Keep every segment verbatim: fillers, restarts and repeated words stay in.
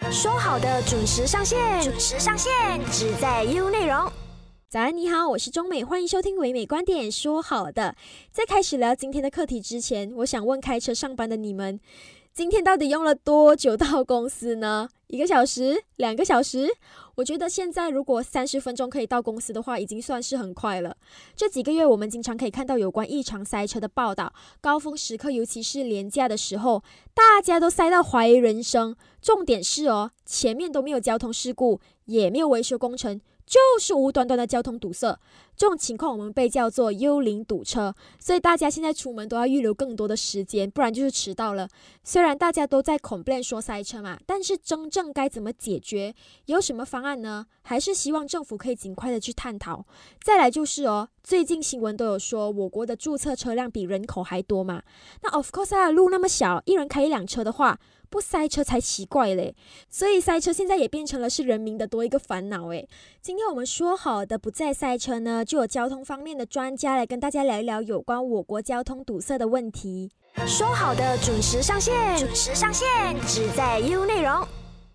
说好的准时上线，准时上线，只在 U 内容。 早安，你好，我是钟美，欢迎收听唯美观点。说好的，在开始聊今天的课题之前，我想问开车上班的你们，今天到底用了多久到公司呢？一个小时？两个小时？我觉得现在如果三十分钟可以到公司的话，已经算是很快了。这几个月我们经常可以看到有关异常塞车的报道，高峰时刻尤其是连假的时候，大家都塞到怀疑人生。重点是哦，前面都没有交通事故，也没有维修工程，就是无端端的交通堵塞。这种情况我们被叫做幽灵堵车，所以大家现在出门都要预留更多的时间，不然就是迟到了。虽然大家都在 complain 说塞车嘛，但是真正该怎么解决，有什么方案呢？还是希望政府可以尽快的去探讨。再来就是哦，最近新闻都有说我国的注册车辆比人口还多嘛，那 of course 啊，路那么小，一人开一辆车的话，不塞车才奇怪嘞。所以塞车现在也变成了是人民的多一个烦恼诶。今天我们说好的不再塞车呢，就有交通方面的专家来跟大家聊一聊有关我国交通堵塞的问题。 说好的准时上线，准时上线，只在 U 内容。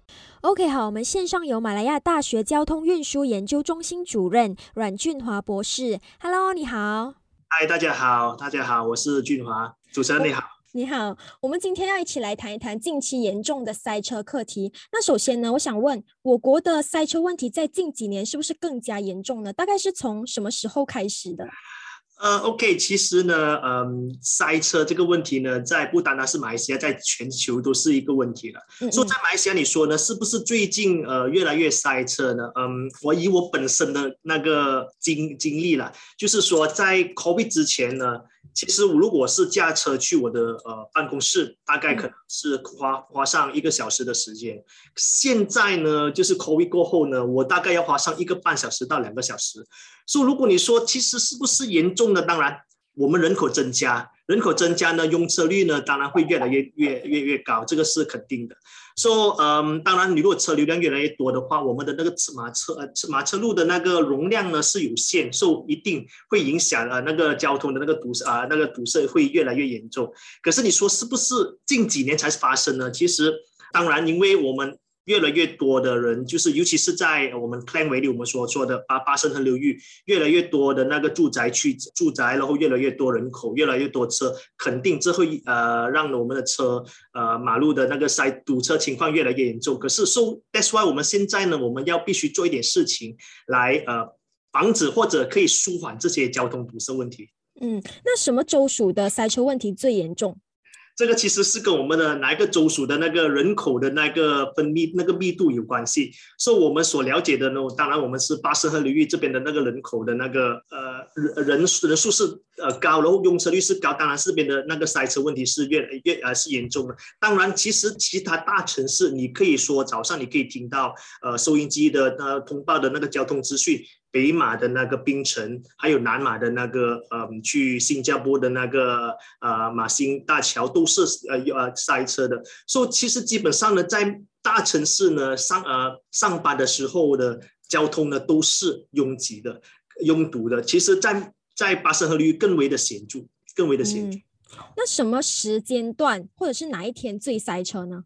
OK， 好，我们线上有马来亚大学交通运输研究中心主任阮俊华博士。Hello， 你好。 嗨，大家好，大家好，我是俊华，主持人你好。 你好，我们今天要一起来谈一谈近期严重的塞车课题。那首先呢，我想问，我国的塞车问题在近几年是不是更加严重呢？大概是从什么时候开始的？ 呃 ，OK， 其实呢，嗯，塞车这个问题呢，在不单单是马来西亚，在全球都是一个问题了。嗯嗯，所以在马来西亚，你说呢，是不是最近呃越来越塞车呢？嗯，我以我本身的那个经经历了，就是说在 COVID 之前呢，其实如果是驾车去我的呃办公室，大概可能是花花上一个小时的时间。现在呢，就是 COVID 过后呢，我大概要花上一个半小时到两个小时。所以如果你说其实是不是严重呢？当然，我们人口增加，人口增加呢，用车率呢当然会越来越越越越高，这个是肯定的。So， 嗯，当然，你如果车流量越来越多的话，我们的那个马车呃马车路的那个容量呢是有限，所以一定会影响呃那个交通的那个堵啊、呃、那个堵塞会越来越严重。可是你说是不是近几年才发生呢？其实，当然，因为我们越来越多的人，就是尤其是在我们 Klang Valley 我们所说的巴巴生河流域，越来越多的那个住宅区住宅，然后越来越多人口，越来越多车，肯定这会呃让我们的车呃马路的那个塞堵车情况越来越严重。可是 so that's why 我们现在呢，我们要必须做一点事情来呃防止或者可以舒缓这些交通堵塞问题。 嗯，那什么州属的塞车问题最严重？ 这个其实是跟我们的哪一个州属的那个人口的那个分密那个密度有关系。所以我们所了解的呢，当然我们是巴士和流域这边的那个人口的那个呃人人数是呃高，然后用车率是高，当然这边的那个塞车问题是越来越呃是严重的。当然，其实其他大城市，你可以说早上你可以听到呃收音机的呃通报的那个交通资讯。北马的那个槟城，还有南马的那个呃去新加坡的那个呃马新大桥都是呃呃塞车的。所以其实基本上呢，在大城市呢上呃上班的时候的交通呢都是拥挤的、拥堵的。其实在，在巴生河流域更为的显著，更为的显著。嗯， 那什么时间段或者是哪一天最塞车呢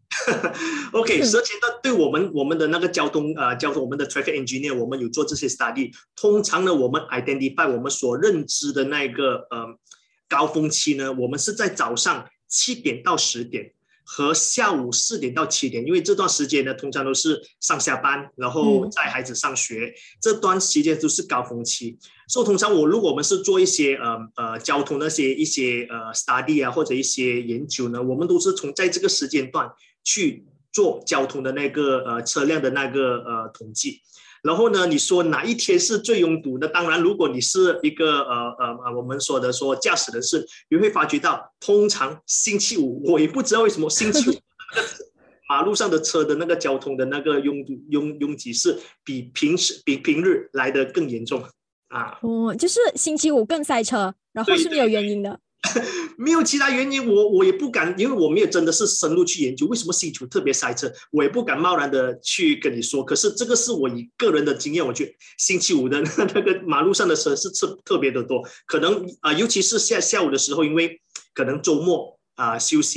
？OK， 时间段对我们我们的那个交通呃交通我们的 traffic engineer， 我们有做这些 study。通常呢，我们 identify 我们所认知的那个呃高峰期呢，我们是在早上七点到十点。和下午四点到七点，因为这段时间呢，通常都是上下班，然后带孩子上学，嗯、这段时间都是高峰期。所以通常我如果我们是做一些呃呃交通那些一些呃 study 啊或者一些研究呢，我们都是从在这个时间段去做交通的那个呃车辆的那个呃统计。然后呢，你说哪一天是最拥堵的？当然，如果你是一个呃呃我们说的说驾驶人士，你会发觉到，通常星期五，我也不知道为什么星期五马路上的车的那个交通的那个拥堵拥拥挤是比平时比平日来的更严重啊。 哦，就是星期五更塞车，然后是没有原因的。 没有其他原因，我我也不敢，因为我没有真的是深入去研究为什么星期五特别塞车，我也不敢贸然的去跟你说。可是这个是我以个人的经验，我觉得星期五的那个马路上的车是特特别的多，可能啊、呃，尤其是下下午的时候，因为可能周末啊、呃、休息。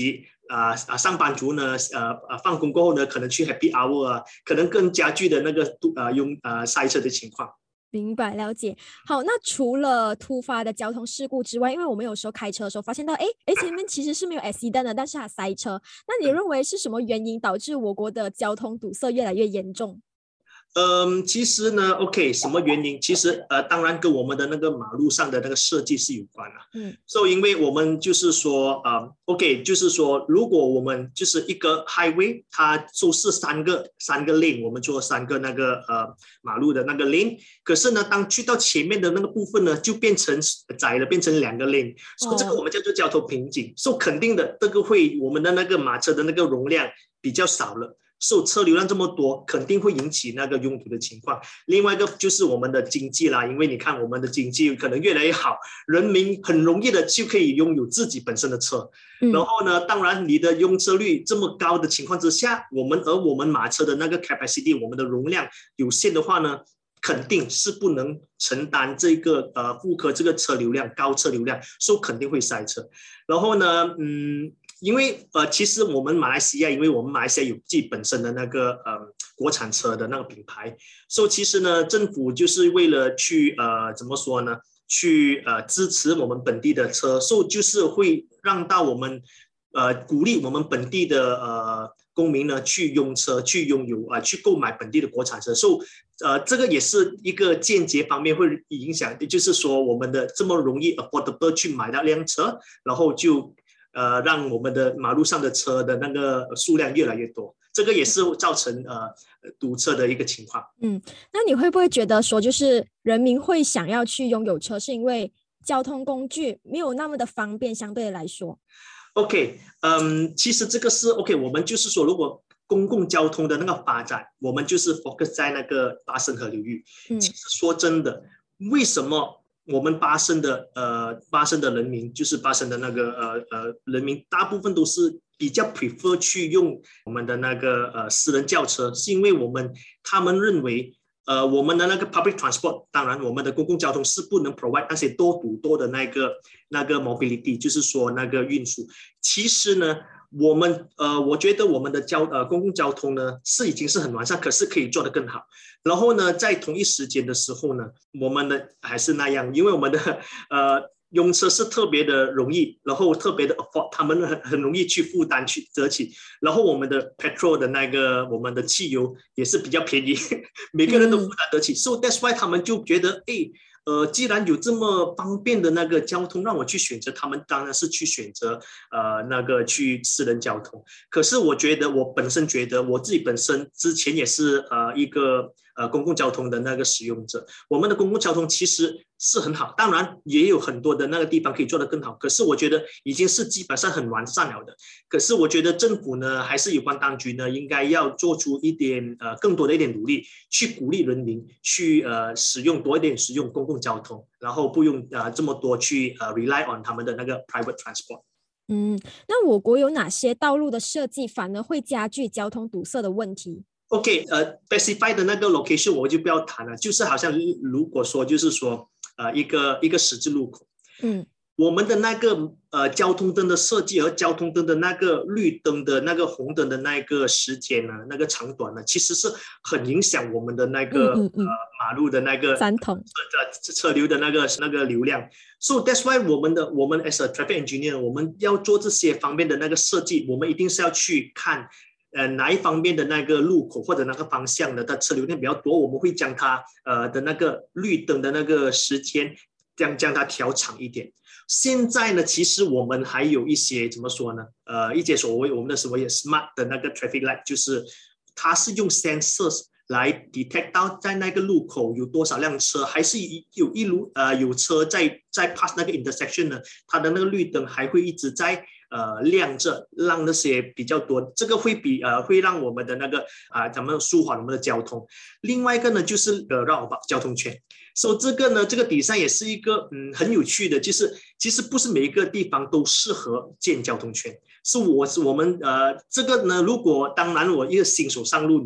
啊、呃、啊上班族呢，呃呃放工过后呢，可能去 happy hour 啊，可能更加剧的那个呃用呃塞车的情况。 明白了解。好，那除了突发的交通事故之外，因为我们有时候开车的时候发现到，哎哎，前面其实是没有 accident 的，但是它塞车。那你认为是什么原因导致我国的交通堵塞越来越严重？ 嗯，其实呢，OK，什么原因？其实呃，当然跟我们的那个马路上的那个设计是有关的。 嗯， 所以因为我们就是说，呃，OK，就是说，如果我们就是一个 highway，它就是三个三个 lane，我们做三个那个呃马路的那个 lane，可是呢，当去到前面的那个部分呢，就变成窄了，变成两个 lane，所以这个我们叫做交通瓶颈。所以肯定的，这个会我们的那个马车的那个容量比较少了。受车流量这么多，肯定会引起那个拥堵的情况。另外一个就是我们的经济啦，因为你看我们的经济可能越来越好，人民很容易的就可以拥有自己本身的车。嗯、然后呢，当然你的用车率这么高的情况之下，我们而我们马车的那个 capacity， 我们的容量有限的话呢，肯定是不能承担这个呃负荷这个车流量高车流量，所以肯定会塞车。然后呢，嗯。因为呃，其实我们马来西亚，因为我们马来西亚有自己本身的那个呃国产车的那个品牌，所以其实呢，政府就是为了去呃怎么说呢，去呃支持我们本地的车，所以就是会让到我们呃鼓励我们本地的呃公民呢去用车，去拥有啊、呃、去购买本地的国产车，所以呃这个也是一个间接方面会影响，就是说我们的这么容易 affordable 去买到辆车，然后就。呃，让我们的马路上的车的那个数量越来越多，这个也是造成呃堵车的一个情况。 嗯，那你会不会觉得说，就是人民会想要去拥有车，是因为交通工具没有那么的方便，相对来说 ？OK， 嗯，其实这个是 OK， 我们就是说，如果公共交通的那个发展，我们就是 focus 在那个巴生河流域。嗯，其实说真的，为什么？我们巴生的呃巴生的人民，就是巴生的那个呃呃人民，大部分都是比较 prefer 去用我们的那个呃私人轿车，是因为我们他们认为呃我们的那个 public transport， 当然我们的公共交通是不能 provide 那些多堵多的那个那个 mobility， 就是说那个运输。其实呢。我们呃，我觉得我们的交呃公共交通呢是已经是很完善，可是可以做得更好。然后呢，在同一时间的时候呢，我们的还是那样，因为我们的呃用车是特别的容易，然后特别的 afford， 他们很很容易去负担去得起。然后我们的 petrol 的那个我们的汽油也是比较便宜，每个人都负担得起。嗯、so that's why 他们就觉得，哎。呃，既然有这么方便的那个交通让我去选择，他们当然是去选择呃那个去私人交通。可是我觉得我本身觉得我自己本身之前也是呃一个呃公共交通的那个使用者，我们的公共交通其实是很好，当然也有很多的那个地方可以做得更好。可是我觉得已经是基本上很完善了的。可是我觉得政府呢，还是有关当局呢，应该要做出一点呃更多的一点努力，去鼓励人民去呃使用多一点使用公共交通，然后不用呃这么多去呃 rely on 他们的那个 private transport。 嗯，那我国有哪些道路的设计反而会加剧交通堵塞的问题？ OK， 呃 ，specify 的那个 location 我就不要谈了，就是好像如果说就是说呃一个一个十字路口，嗯。我们的那个呃交通灯的设计和交通灯的那个绿灯的那个红灯的那个时间呢，那个长短呢，其实是很影响我们的那个嗯嗯嗯呃马路的那个三通车车流的那个那个流量。So that's why 我们的我们 as a traffic engineer， 我们要做这些方面的那个设计，我们一定是要去看呃哪一方面的那个路口或者那个方向的它车流量比较多，我们会将它呃的那个绿灯的那个时间将将它调长一点。现在呢，其实我们还有一些怎么说呢？呃，一些所谓我们的所谓 smart 的那个 traffic light， 就是它是用 sensors 来 detect 到在那个路口有多少辆车，还是有一路呃有车在在 pass 那个 intersection 呢，它的那个绿灯还会一直在呃亮着，让那些比较多，这个会比呃会让我们的那个啊、呃、咱们舒缓我们的交通。另外一个呢，就是呃绕跑交通圈。所以这个呢，这个底下也是一个嗯很有趣的，就是其实不是每一个地方都适合建交通圈。是我是我们呃这个呢，如果当然我一个新手上路，你不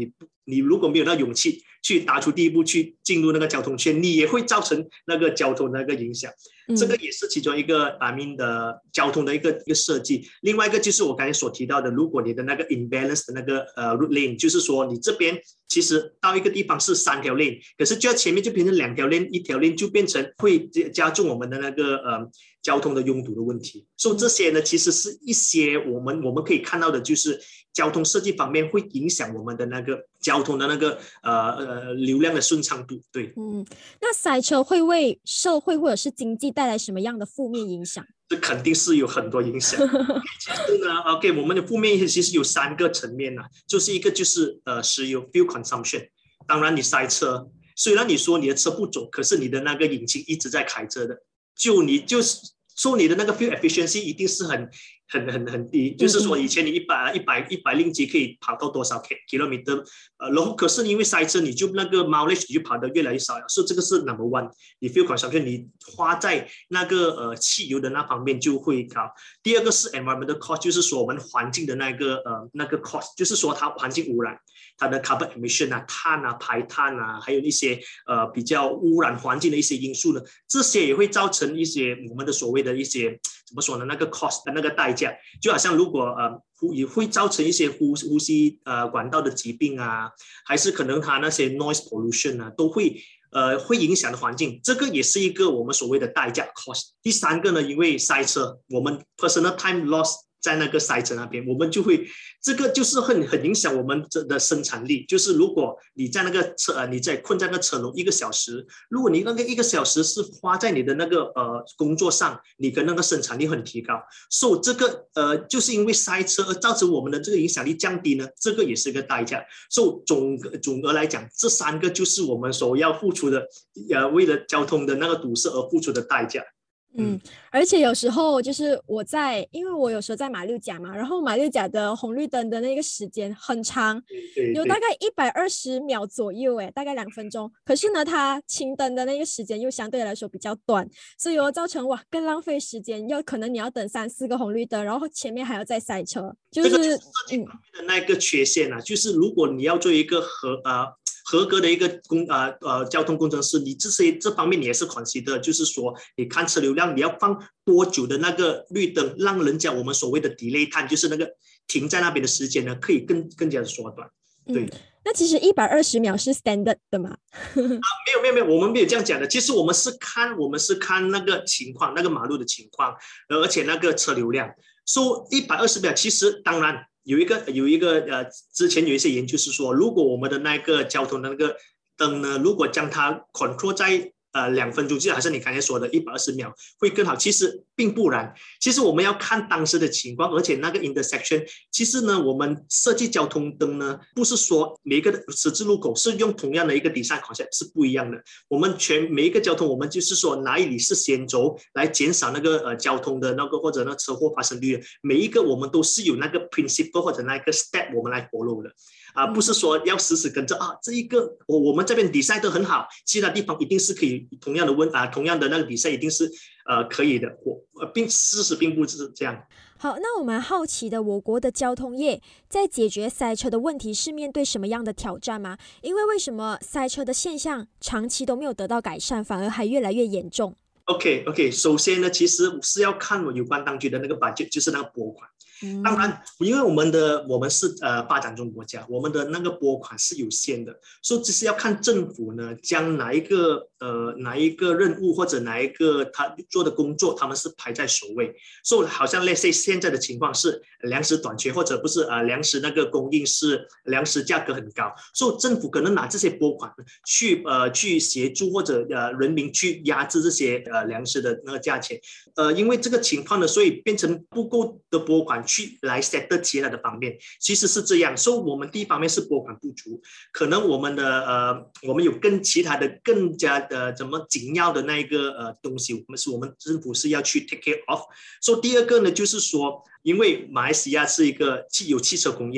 你如果没有那勇气去踏出第一步去进入那个交通圈，你也会造成那个交通的那个影响。嗯、这个也是其中一个 I mean 的交通的一个一个设计。另外一个就是我刚才所提到的，如果你的那个 imbalance 的那个呃 route lane， 就是说你这边其实到一个地方是三条 lane， 可是就要前面就变成两条 lane， 一条 lane 就变成会加重我们的那个呃交通的拥堵的问题。所以这些呢，其实是一些我们我们可以看到的，就是交通设计方面会影响我们的那个交通的那个呃呃流量的顺畅度。对， 嗯，那塞车会为社会或者是经济带来什么样的负面影响？ 这肯定是有很多影响。其实呢 ，OK， 我们的负面影响其实有三个层面啊，就是一个就是呃石油 fuel consumption， 当然你塞车，虽然你说你的车不走，可是你的那个引擎一直在开着的，就你就是说你的那个 fuel efficiency 一定是很很很很低，就是说以前你一百一百一百令吉可以跑到多少 kilometer， 呃，然后可是因为塞车，你就那个 mileage 你就跑得越来越少了，所以这个是 number one， 你 fuel consumption 你花在那个呃汽油的那方面就会高。第二个是 environmental cost， 就是说我们环境的那个呃那个 cost， 就是说它环境污染，它的 carbon emission 啊、碳啊、排碳啊，还有一些呃比较污染环境的一些因素呢，这些也会造成一些我们的所谓的一些怎么说呢？那个 cost 的那个代价，就好像如果呃也会造成一些呼呼吸呃管道的疾病啊，还是可能它那些 noise pollution 啊，都会呃会影响的环境，这个也是一个我们所谓的代价 cost。第三个呢，因为塞车，我们 personal time loss。在那个塞车那边，我们就会这个就是很很影响我们的生产力。就是如果你在那个车，呃，你在困在那个车笼一个小时，如果你那个一个小时是花在你的那个呃工作上，你跟那个生产力很提高。所以这个呃就是因为塞车而造成我们的这个影响力降低呢，这个也是一个代价。所以总总的来讲，这三个就是我们所要付出的，呃，为了交通的那个堵塞而付出的代价。 嗯，而且有时候就是我在，因为我有时候在马六甲嘛，然后马六甲的红绿灯的那个时间很长，有大概一百二十秒左右，哎，大概两分钟。可是呢，它青灯的那个时间又相对来说比较短，所以又造成哇更浪费时间，又可能你要等三四个红绿灯，然后前面还要再塞车，就是这个就是设计方面的那个缺陷啊，嗯、就是如果你要做一个合呃。合格的一个工呃呃交通工程师，你这些这方面你也是 consider， 就是说你看车流量，你要放多久的那个绿灯，让人家我们所谓的 delay time， 就是那个停在那边的时间呢，可以更更加的缩短。对，嗯、 那其实一百二十秒是 standard 的吗？ 啊，没有没有没有，我们没有这样讲的。其实我们是看我们是看那个情况，那个马路的情况，而且那个车流量。说一百二十秒，其实当然。有一个有一个呃，之前有一些研究是说，如果我们的那个交通的那个灯呢，如果将它 control 在呃两分钟，就好像你刚才说的一百二十秒会更好。其实并不然，其实我们要看当时的情况，而且那个 intersection， 其实呢，我们设计交通灯呢，不是说每一个十字路口是用同样的一个 design concept 是不一样的。我们全每一个交通，我们就是说哪里是先轴来减少那个呃交通的那个或者那车祸发生率，每一个我们都是有那个 principle 或者那个 step 我们来 follow 的。啊，不是说要死死跟着啊，这一个我我们这边比赛都很好，其他地方一定是可以同样的问啊，同样的那个比赛一定是呃可以的，我并事实并不是这样。 好，那我们好奇的，我国的交通业在解决塞车的问题是面对什么样的挑战吗？因为为什么塞车的现象长期都没有得到改善，反而还越来越严重？ OK OK， 首先呢，其实是要看我有关当局的那个 budget， 就是那个拨款。当然，因为我们的我们是呃发展中国家，我们的那个拨款是有限的，所以只是要看政府呢将哪一个呃哪一个任务或者哪一个他做的工作，他们是排在首位。所以好像 let's say 现在的情况是粮食短缺，或者不是呃粮食那个供应是粮食价格很高，所以政府可能拿这些拨款去呃去协助或者呃人民去压制这些呃粮食的那个价钱。呃，因为这个情况呢，所以变成不够的拨款去来 set 其他的方面，其实是这样。所以我们第一方面是拨款不足，可能我们的呃，我们有更其他的更加的怎么紧要的那一个呃东西，我们是我们政府是要去 take care of。所以第二个呢，就是说，因为马来西亚是一个汽有汽车工业。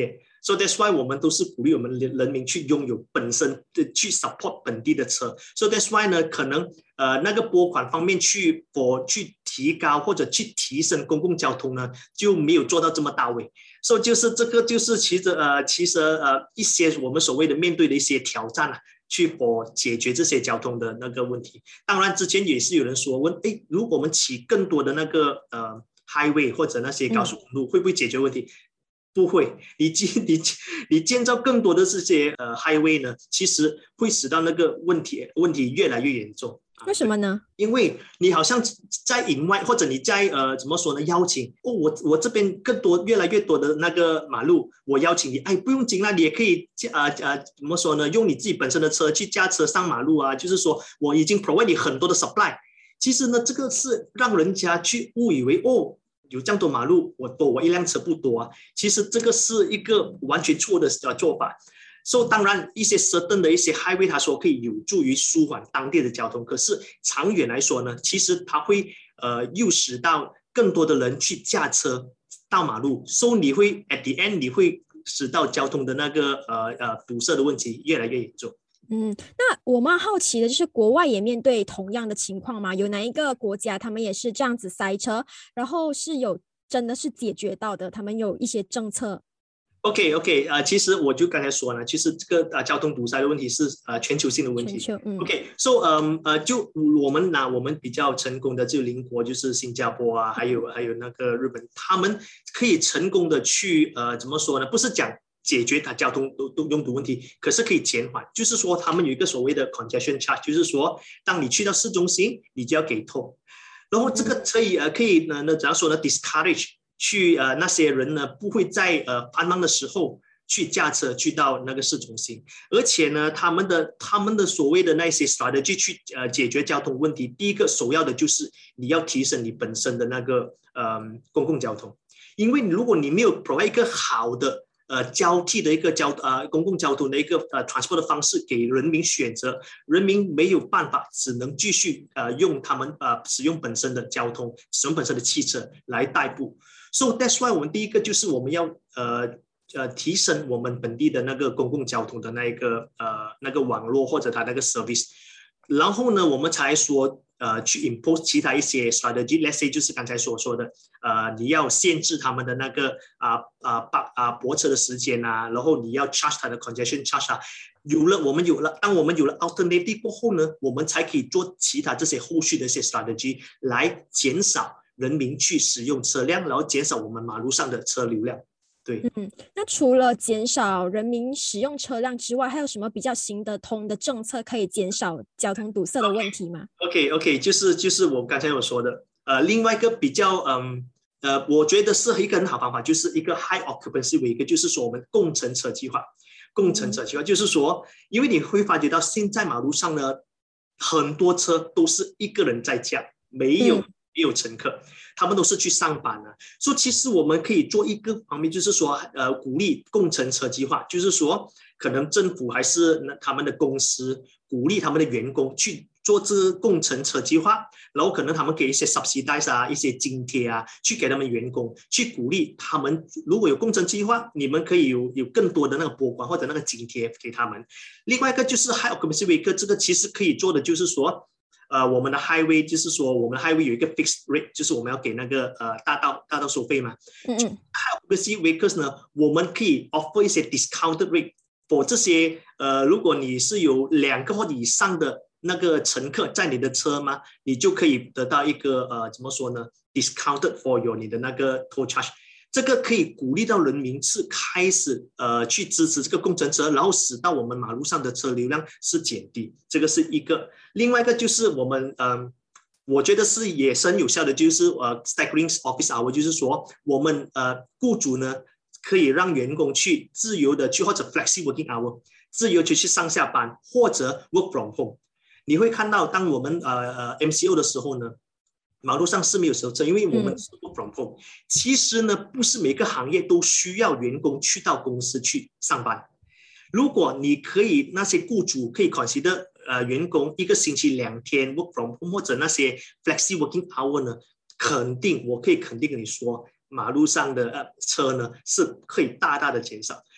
So that's why 我们都是鼓励我们人民去拥有本身的去 support 本地的车。So that's why 呢，可能呃那个拨款方面去我去提高或者去提升公共交通呢，就没有做到这么到位。So 就是这个就是其实呃其实呃一些我们所谓的面对的一些挑战啊。去我解决这些交通的那个问题。当然，之前也是有人说问，哎，如果我们起更多的那个呃 highway 或者那些高速公路，嗯、会不会解决问题？不会。你你你建造更多的这些呃 highway 呢，其实会使到那个问题问题越来越严重。 为什么呢？ 因为你好像在营外，或者你在呃怎么说呢？邀请哦，我我这边更多越来越多的那个马路，我邀请你，哎，不用紧啦，你也可以呃呃怎么说呢？用你自己本身的车去驾车上马路啊，就是说我已经 provide 你很多的 supply。其实呢，这个是让人家去误以为哦，有这样多马路，我多我一辆车不多啊。其实这个是一个完全错的呃做法。So 当然一些 certain 的一些 highway 他说可以有助于舒缓当地的交通，可是长远来说呢，其实它会呃诱使到更多的人去驾车到马路， so 你会 at the end 你会使到交通的那个呃呃堵塞的问题越来越严重。 嗯，那我蛮好奇的就是国外也面对同样的情况吗？有哪一个国家他们也是这样子塞车，然后是有真的是解决到的，他们有一些政策 ？OK OK， 呃，其实我就刚才说呢，其实这个呃交通堵塞的问题是呃全球性的问题。 全球，嗯 OK，so 嗯呃，就我们拿我们比较成功的就邻国就是新加坡啊，还有还有那个日本，他们可以成功的去呃怎么说呢？不是讲解决它交通拥堵问题，可是可以减缓。就是说他们有一个所谓的 congestion charge， 就是说当你去到市中心，你就要给 toll， 然后这个可以呃可以呢呢怎样说呢 discourage。去呃那些人呢不会在呃繁忙的时候去驾车去到那个市中心，而且呢他们的他们的所谓的那些 strategy 去呃解决交通问题，第一个首要的就是你要提升你本身的那个呃公共交通，因为如果你没有 provide 一个好的呃交替的一个交呃公共交通的一个呃 transport 的方式给人民选择，人民没有办法，只能继续呃用他们呃使用本身的交通，使用本身的汽车来代步。So that's why 我们第一个就是我们要呃呃提升我们本地的那个公共交通的那一个呃那个网络或者它那个 service， 然后呢我们才说呃去 impose 其他一些 strategy，let's say 就是刚才所说的呃你要限制他们的那个啊啊啊泊车的时间啊，然后你要 charge 它的 congestion charge 啊。有了我们有了当我们有了 alternative 过后呢，我们才可以做其他这些后续的一些 strategy 来减少人民去使用车辆，然后减少我们马路上的车流量。对， 嗯，那除了减少人民使用车辆之外，还有什么比较行得通的政策可以减少交通堵塞的问题吗 ？OK OK， 就是就是我刚才有说的，呃，另外一个比较嗯呃，我觉得是一个很好方法，就是一个 high occupancy rate， 就是说我们共乘车计划。共乘车计划就是说，因为你会发觉到现在马路上呢，很多车都是一个人在驾，没有、嗯、没有乘客，他们都是去上班的。所以其实我们可以做一个方面，就是说，呃，鼓励共乘车计划，就是说，可能政府还是他们的公司鼓励他们的员工去做这共乘车计划，然后可能他们给一些 subsidies 啊，一些津贴啊，去给他们员工，去鼓励他们。如果有共乘计划，你们可以有有更多的那个拨款或者那个津贴给他们。另外一个就是 high occupancy rate， 这个其实可以做的就是说，呃，我们的 highway 就是说我们的 highway 有一个 fixed rate， 就是我们要给那个呃大道大道收费嘛。嗯嗯。high occupancy rate 呢，我们可以 offer 一些 discounted rate for 这些呃，如果你是有两个或以上的那个乘客在你的车吗？你就可以得到一个呃，怎么说呢 ？discounted for your 你的那个 toll charge， 这个可以鼓励到人民是开始呃去支持这个共乘车，然后使到我们马路上的车流量是减低，这个是一个。另外一个就是我们嗯、呃，我觉得是也是很有效的，就是呃 staggering office hour， 就是说我们呃雇主呢可以让员工去自由的去或者 flexible working hour， 自由去去上下班或者 work from home。你会看到，当我们呃呃 M C O 的时候呢，马路上是没有车，因为我们是 work from home。其实呢，不是每个行业都需要员工去到公司去上班。如果你可以，那些雇主可以 consider 呃员工一个星期两天 work from home 或者那些 flexible working hour 呢，肯定我可以肯定跟你说，马路上的呃车呢是可以大大的减少。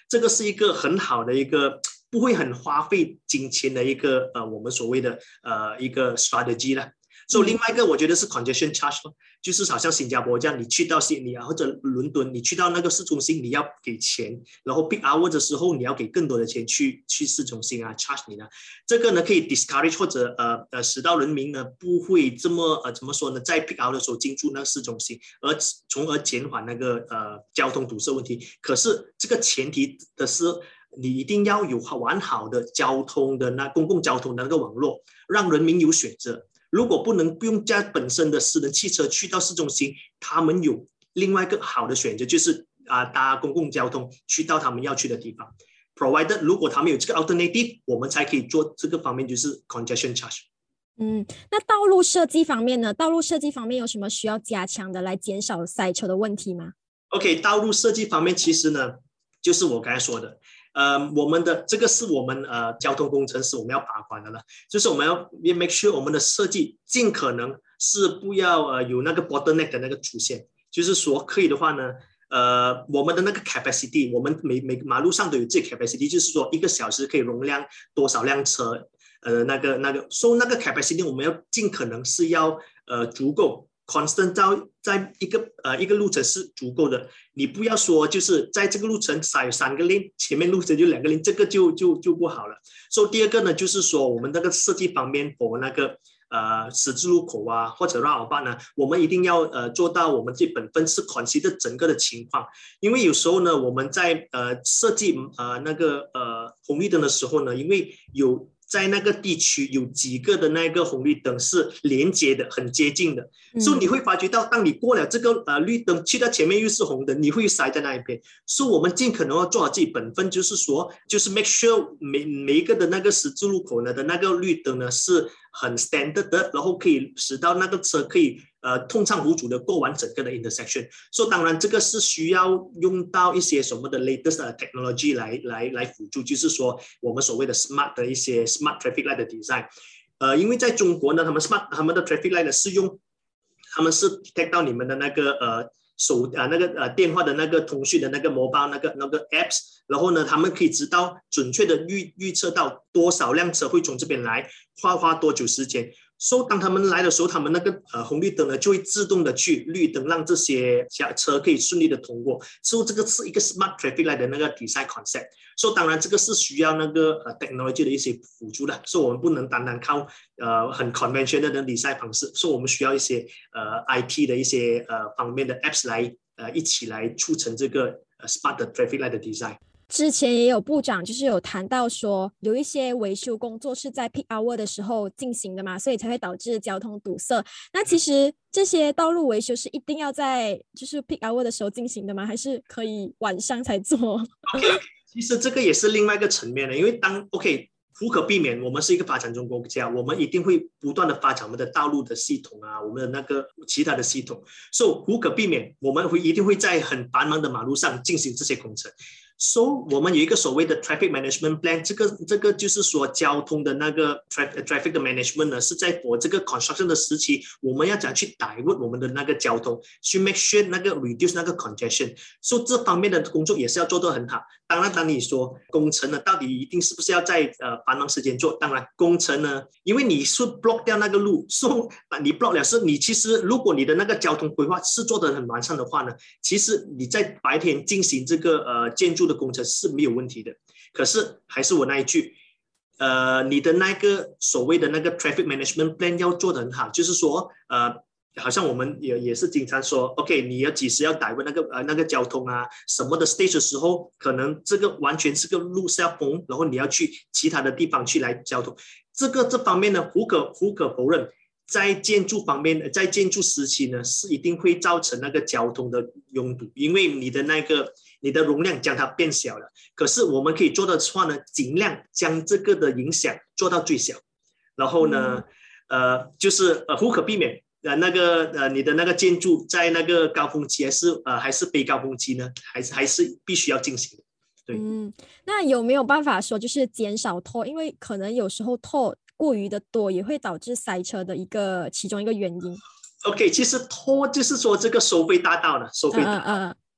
这个是一个很好的一个不会很花费金钱的一个呃我们所谓的呃一个 strategy 啦。所以另外一个我觉得是 congestion charge， 就是好像新加坡这样，你去到悉尼啊或者伦敦，你去到那个市中心你要给钱，然后 peak hour 的时候你要给更多的钱去去市中心啊 charge 你呢，这个呢可以 discourage 或者呃呃使到人民呢不会这么呃怎么说呢，在 peak hour 的时候进驻那个市中心，而从而减缓那个呃交通堵塞问题。可是这个前提的是你一定要有完好的交通的那公共交通的那个网络，让人民有选择。如果不能不用加本身的私人汽车去到市中心，他们有另外一个好的选择，就是啊、呃、搭公共交通去到他们要去的地方。Provided 如果他们有这个 alternative， 我们才可以做这个方面，就是 congestion charge。 嗯，那道路设计方面呢？道路设计方面有什么需要加强的来减少塞车的问题吗 ？OK， 道路设计方面其实呢，就是我刚才说的。呃，我们的这个是我们呃交通工程师我们要把关的了，就是我们要 make sure 我们的设计尽可能是不要呃有那个 bottleneck 的那个出现，就是说可以的话呢，呃我们的那个 capacity， 我们每每马路上都有自己 capacity， 就是说一个小时可以容量多少辆车，呃那个那个 so 那个 capacity 我们要尽可能是要呃足够。constant 到在一个呃一个路程是足够的，你不要说就是在这个路程塞三个 lane， 前面路程就两个 lane， 这个就就就不好了。所以第二个呢，就是说我们那个设计方面，我们那个呃十字路口啊或者 roundabout 呢，我们一定要呃做到我们这本分是 consider 整个的情况，因为有时候呢我们在呃设计呃那个呃红绿灯的时候呢，因为有在那个地区有几个的那个红绿灯是连接的，很接近的，嗯、所以你会发觉到，当你过了这个呃绿灯，去到前面又是红灯，你会塞在那一边。所以我们尽可能要做好自己本分，就是说，就是 make sure 每每一个的那个十字路口呢的那个绿灯呢是很 standard 的，然后可以使到那个车可以呃通畅无阻的过完整个的 intersection。所以当然这个是需要用到一些什么的 latest 的 technology 来来来辅助，就是说我们所谓的 smart 的一些 smart traffic light 的 design。呃，因为在中国呢，他们 smart 他们的 traffic light 呢是用，他们是 detect 到你们的那个呃手啊、呃、那个呃电话的那个通讯的那个 mobile 那个那个 apps， 然后呢，他们可以知道准确的预预测到多少辆车会从这边来，花花多久时间。所以当他们来的时候，他们那个呃红绿灯呢就会自动的去绿灯，让这些车可以顺利的通过。所以这个是一个 smart traffic light 的那个 design concept。所以当然这个是需要那个呃 technology 的一些辅助的，所以我们不能单单靠呃很 conventional 的 design 方式，所以我们需要一些呃 I T 的一些呃方面的 apps 来呃一起来促成这个呃 smart 的 traffic light 的 design。 之前也有部长就是有谈到说，有一些维修工作是在 peak hour 的时候进行的嘛，所以才会导致交通堵塞。那其实这些道路维修是一定要在就是 peak hour 的时候进行的吗？还是可以晚上才做 ？OK， 其实这个也是另外一个层面的，因为当 OK。无可避免，我们是一个发展中国家，我们一定会不断的发展我们的道路的系统啊，我们的那个其他的系统，所以无可避免，我们会一定会在很繁忙的马路上进行这些工程。So 我们有一个所谓的 traffic management plan， 这个这个就是说交通的那个 traffic traffic 的 management 呢，是在我这个 construction 的时期，我们要怎样去 divert 我们的那个交通，去 make sure 那个 reduce 那个 congestion， 所以这方面的工作也是要做得很好。当然，当你说工程呢，到底一定是不是要在呃繁忙时间做？当然，工程呢，因为你是 block 掉那个路，所以你 block 了是，你其实如果你的那个交通规划是做得很完善的话呢，其实你在白天进行这个呃建筑的工程是没有问题的。可是还是我那一句，呃，你的那个所谓的那个 traffic management plan 要做得很好，就是说呃。好像我们也也是经常说 ，OK， 你要几时要改问那个呃那个交通啊什么的 stage 的时候，可能这个完全是个路是要封，然后你要去其他的地方去来交通。这个这方面呢，无可无可否认，在建筑方面，在建筑时期呢，是一定会造成那个交通的拥堵，因为你的那个你的容量将它变小了。可是我们可以做的话呢，尽量将这个的影响做到最小，然后呢，嗯、呃，就是呃无可避免。呃，那个呃，你的那个建筑在那个高峰期还是呃还是非高峰期呢？还是还是必须要进行的。对， 嗯，那有没有办法说就是减少拖？因为可能有时候拖过于的多，也会导致塞车的一个其中一个原因。 OK， 其实拖就是说这个收费大道了，收费大道。嗯嗯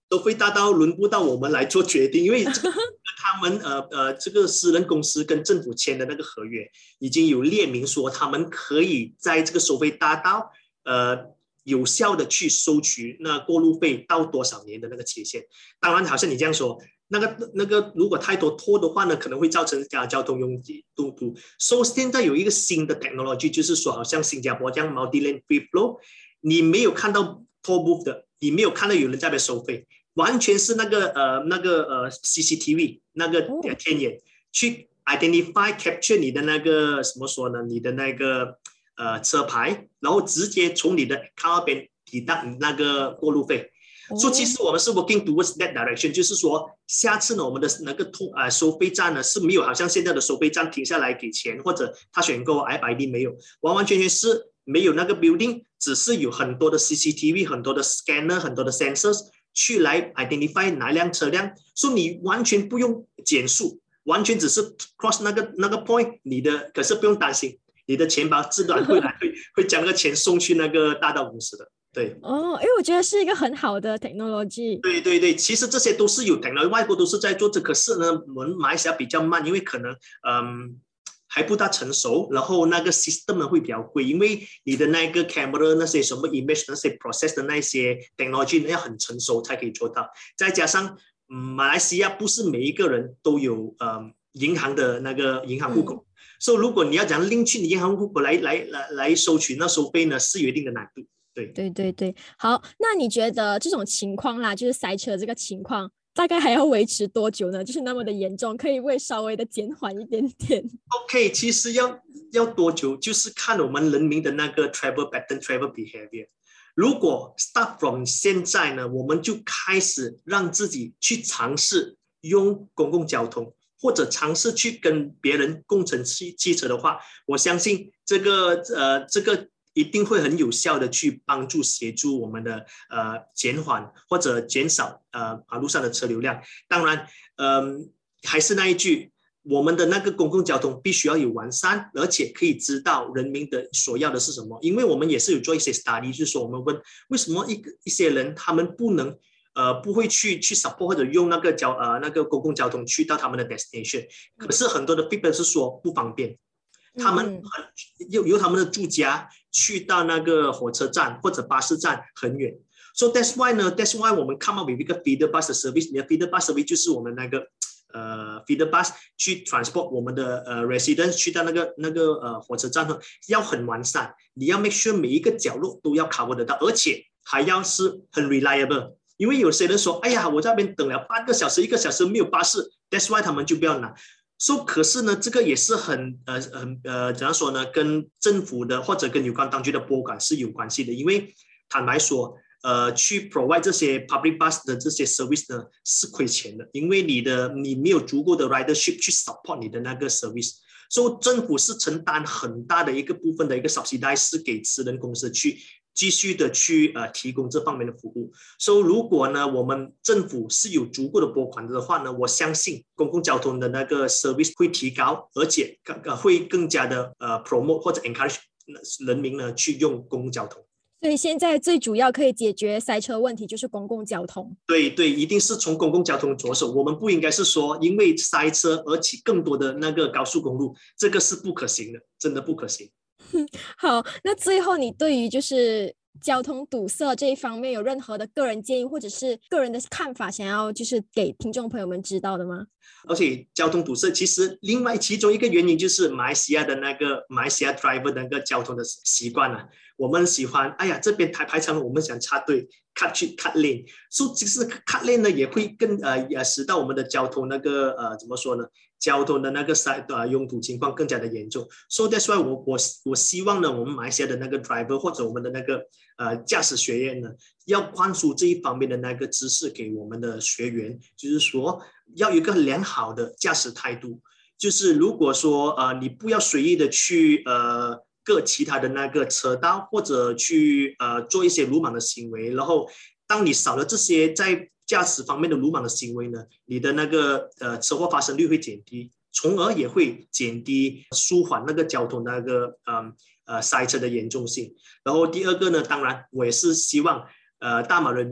收费大道轮不到我们来做决定，因为这个他们呃呃这个私人公司跟政府签的那个合约已经有列明说，他们可以在这个收费大道呃有效的去收取那过路费到多少年的那个期限。当然，好像你这样说，那个那个如果太多拖的话呢，可能会造成交通拥堵堵。所以现在有一个新的 technology， 就是说，好像新加坡这样 multi-lane free flow， 你没有看到 toll booth 的，你没有看到有人在那边收费。完全是那个呃那个呃 C C T V 那个天眼、哦、去 identify capture 你的那个什么说呢？你的那个呃车牌，然后直接从你的 car 边抵到那个过路费。所、哦 so, 其实我们是 working towards that direction， 就是说下次呢我们的那个通呃收费站呢是没有好像现在的收费站停下来给钱，或者他选购 I B I D 没有，完完全全是没有那个 building， 只是有很多的 C C T V， 很多的 scanner， 很多的 sensors。去来 identify 哪辆车辆，所以你完全不用减速，完全只是 cross 那个那个 point， 你的可是不用担心，你的钱包自然会来会会将那个钱送去那个大道公司的。对， 哦，因为我觉得是一个很好的 technology。 对对对，其实这些都是有 technology， 外国都是在做这，可是呢，我们马来西亚比较慢，因为可能嗯。还不大成熟，然后那个 system 呢会比较贵，因为你的那个 camera 那些什么 image 那些 process 的那些 technology 要很成熟才可以做到。再加上、嗯、马来西亚不是每一个人都有、呃、银行的那个银行户口，所以、嗯 so, 如果你要讲拎去你银行户口来来来来收取那收费呢，是有一定的难度。对对对对，好，那你觉得这种情况啦，就是塞车这个情况。大概还要维持多久呢？就是那么的严重，可以会稍微的减缓一点点。 OK， 其实要要多久，就是看我们人民的那个 travel pattern、travel behavior。如果 start from 现在呢，我们就开始让自己去尝试用公共交通，或者尝试去跟别人共乘汽汽车的话，我相信这个呃这个。一定会很有效的去帮助协助我们的呃减缓或者减少呃马路上的车流量。当然，嗯、呃，还是那一句，我们的那个公共交通必须要有完善，而且可以知道人民的所要的是什么。因为我们也是有做一些 study， 就是说我们问为什么一个一些人他们不能呃不会去去 support 或者用那个交呃那个公共交通去到他们的 destination， 可是很多的 people 是说不方便。他们由由他们的住家去到那个火车站或者巴士站很远 ，so that's why 呢 ，that's why 我们 come up with 一个 feeder bus 的 service， 你的 feeder bus service 就是我们那个呃 feeder bus 去 transport 我们的呃 residents 去到那个那个呃火车站呢，要很完善，你要 make sure 每一个角落都要 cover 得到，而且还要是很 reliable， 因为有些人说，哎呀，我在那边等了半个小时、一个小时没有巴士 ，that's why 他们就不要拿。说、so, 可是呢，这个也是很呃很呃怎样说呢？跟政府的或者跟有关当局的拨款是有关系的，因为坦白说，呃，去 provide 这些 public bus 的这些 service 呢是亏钱的，因为你的你没有足够的 ridership 去 support 你的那个 service， 所、so, 以政府是承担很大的一个部分的一个 subsidy 是给私人公司去。继续的去呃提供这方面的服务，所以如果呢我们政府是有足够的拨款的话呢，我相信公共交通的那个 service 会提高，而且会更加的呃 promote 或者 encourage 人民呢去用公共交通。 所以现在最主要可以解决塞车问题就是公共交通。 对对，一定是从公共交通着手，我们不应该是说因为塞车而起更多的那个高速公路，这个是不可行的，真的不可行。 好，那最后你对于就是交通堵塞这一方面有任何的个人建议或者是个人的看法想要就是给听众朋友们知道的吗？ 而且交通堵塞其实另外其中一个原因就是马来西亚的那个马来西亚 driver 的那个交通的习惯啊，我们喜欢哎呀这边排排长龙我们想插队 cut 去 cut lane， 所以其实 cut lane 呢也会更呃使到我们的交通那个呃怎么说呢？交通的那个塞呃拥堵情况更加的严重，所以 that's why 我我我希望呢，我们马来西亚的那个 driver 或者我们的那个呃驾驶学院呢，要灌输这一方面的那个知识给我们的学员，就是说要有一个良好的驾驶态度，就是如果说呃你不要随意的去呃各其他的那个车道或者去呃做一些鲁莽的行为，然后当你少了这些在驾驶方面的鲁莽的行为呢，你的那个呃车祸发生率会减低，从而也会减低舒缓那个交通那个呃呃塞车的严重性。然后第二个呢，当然我也是希望呃大马人民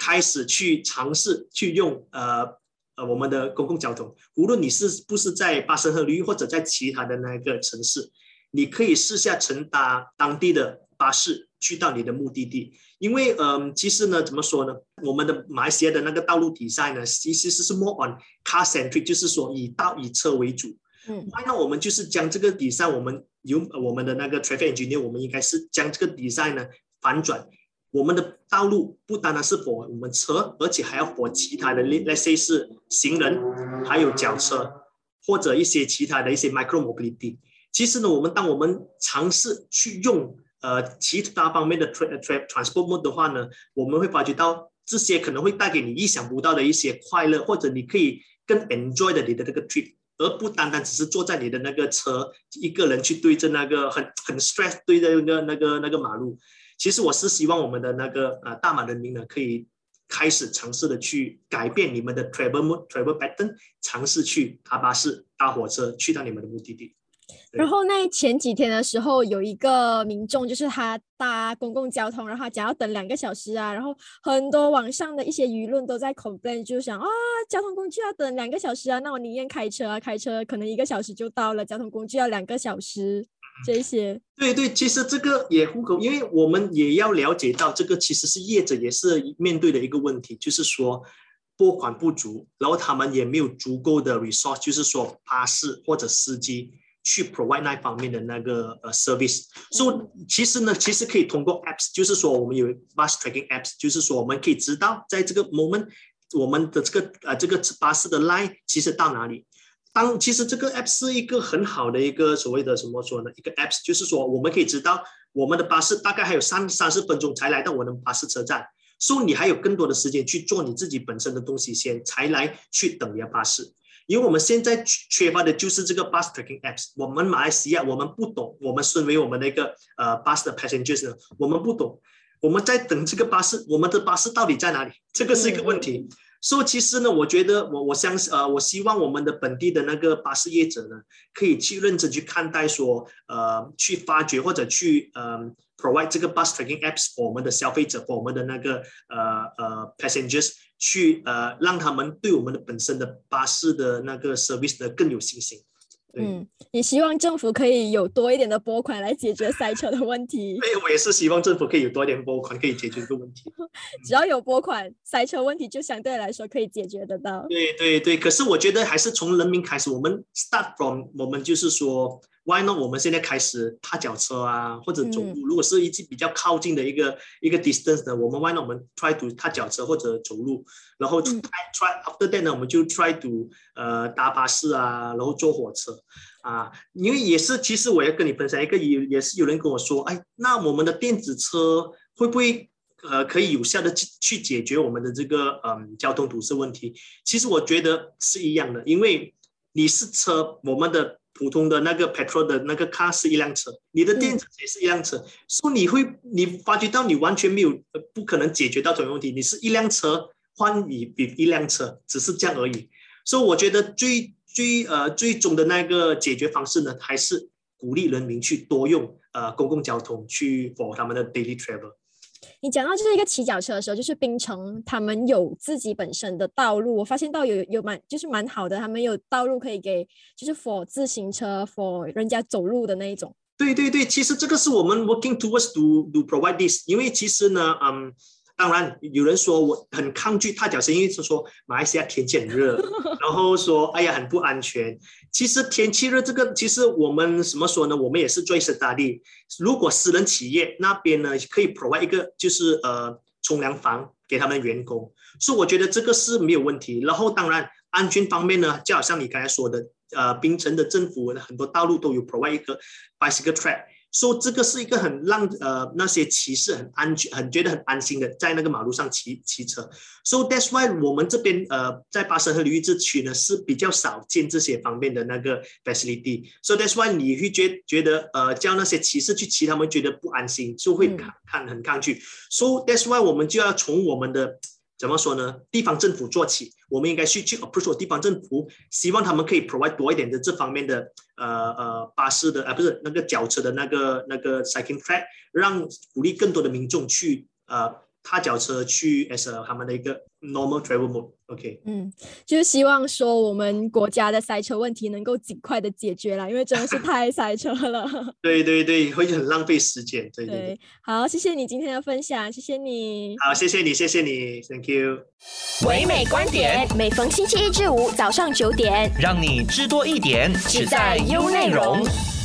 开始去尝试去用呃呃我们的公共交通，无论你是不是在巴生河流或者在其他的那个城市，你可以试下乘搭当地的巴士去到你的目的地。因为嗯，其实呢，怎么说呢？我们的马来西亚的那个道路比赛呢，其实是 more on car centric， 就是说以道以车为主。嗯，那我们就是将这个比赛，我们由我们的那个 traffic engineer， 我们应该是将这个比赛呢反转。我们的道路不单单是 for 我们车，而且还要 for 其他的 ，let's say 是行人，还有脚车，或者一些其他的一些 micro mobility。其实呢，我们当我们尝试去用呃其他方面的 tra, tra, transport mode 的话呢，我们会发觉到这些可能会带给你意想不到的一些快乐，或者你可以更 enjoy 的你的这个 trip。而不单单只是坐在你的那个车，一个人去对着那个很很 stress 对着那个那个那个马路。其实我是希望我们的那个呃大马人民呢，可以开始尝试的去改变你们的 travel travel pattern， 尝试去搭巴士、搭火车去到你们的目的地。 然后那前几天的时候，有一个民众就是他搭公共交通，然后他讲要等两个小时啊，然后很多网上的一些舆论都在 complain， 就想啊，交通工具要等两个小时啊，那我宁愿开车啊，开车可能一个小时就到了，交通工具要两个小时，这些。 对对，其实这个也户口，因为我们也要了解到，这个其实是业者也是面对的一个问题，就是说拨款不足，然后他们也没有足够的 resource， 就是说巴士或者司机去 provide 那方面的那个呃 service， 所以、so, 其实呢，其实可以通过 apps， 就是说我们有 bus tracking apps， 就是说我们可以知道在这个 moment 我们的这个呃这个巴士的 line 其实到哪里。当其实这个 app 是一个很好的一个所谓的什么说呢？一个 apps， 就是说我们可以知道我们的巴士大概还有三三十分钟才来到我的巴士车站，所以你还有更多的时间去做你自己本身的东西先，才来去等你的巴士。因为我们现在缺乏的就是这个 bus tracking apps， 我们马来西亚我们不懂，我们身为我们的一个呃 bus 的 passengers 呢，我们不懂，我们在等这个巴士，我们的巴士到底在哪里？这个是一个问题。嗯所以、so, 其实呢，我觉得我我相信呃，我希望我们的本地的那个巴士业者呢，可以去认真去看待说，呃，去发掘或者去呃 provide 这个 bus tracking apps for 我们的消费者， for 我们的那个呃呃 passengers， 去呃让他们对我们的本身的巴士的那个 service 呢更有信心。 嗯，也希望政府可以有多一点的拨款来解决塞车的问题。 对，我也是希望政府可以有多一点拨款，可以解决这个问题。 只要有拨款，塞车问题就相对来说可以解决得到。 对对对，可是我觉得还是从人民开始，我们 start from 我们就是说 ，why not 我们现在开始踏脚车啊，或者走路。嗯、如果是一比较靠近的一个一个 distance 的，我们 why not 我们 try to 踏脚车或者走路，然后 try,、嗯、try after that 呢，我们就 try to 呃搭巴士啊，然后坐火车。啊，因为也是，其实我要跟你分享一个，也也是有人跟我说，哎，那我们的电子车会不会呃可以有效的去解决我们的这个嗯交通堵塞问题？其实我觉得是一样的，因为你是车，我们的普通的那个 petrol 的那个 car 是一辆车，你的电子也是一辆车，所以、嗯 so、你会你发觉到你完全没有不可能解决到这种问题，你是一辆车换你比一辆车，只是这样而已。所以我觉得最最呃最终的那个解决方式呢，还是鼓励人民去多用呃公共交通去 for 他们的 daily travel。 你讲到就是一个骑脚车的时候，就是槟城他们有自己本身的道路，我发现到有有蛮就是蛮好的，他们有道路可以给就是 for 自行车 for 人家走路的那一种。 对对对，其实这个是我们 working towards to to provide this， 因为其实呢，嗯。当然，有人说我很抗拒踏脚车，因为是说马来西亚天气很热，然后说哎呀很不安全。其实天气热这个，其实我们怎么说呢？我们也是做study。如果私人企业那边呢，可以 provide 一个就是呃冲凉房给他们的员工，所以我觉得这个是没有问题。然后当然安全方面呢，就好像你刚才说的，呃，槟城的政府很多道路都有 provide 一个 bicycle track。所以这个是一个很让呃那些骑士很安全、很觉得很安心的在那个马路上骑骑车。So that's why 我们这边呃在巴生河流域这区呢是比较少见这些方面的那个 facility。So that's why 你会觉觉得呃叫那些骑士去骑，他们觉得不安心，就会看看很抗拒。So that's why 我们就要从我们的怎么说呢？地方政府做起，我们应该去去 approach 地方政府，希望他们可以 provide 多一点的这方面的呃呃巴士的啊不是那个脚车的那个那个 cycling track， 让鼓励更多的民众去呃踏脚车去 as a 他们的一个 normal travel mode。OK， 嗯，就是希望说我们国家的塞车问题能够尽快的解决啦，因为真的是太塞车了。 对对对，会很浪费时间。对对 对, 对，好，谢谢你今天的分享，谢谢你。 好，谢谢你，谢谢你 ，Thank you。 唯美观点，每逢星期一至五早上九点， 让你知多一点，只在优内容。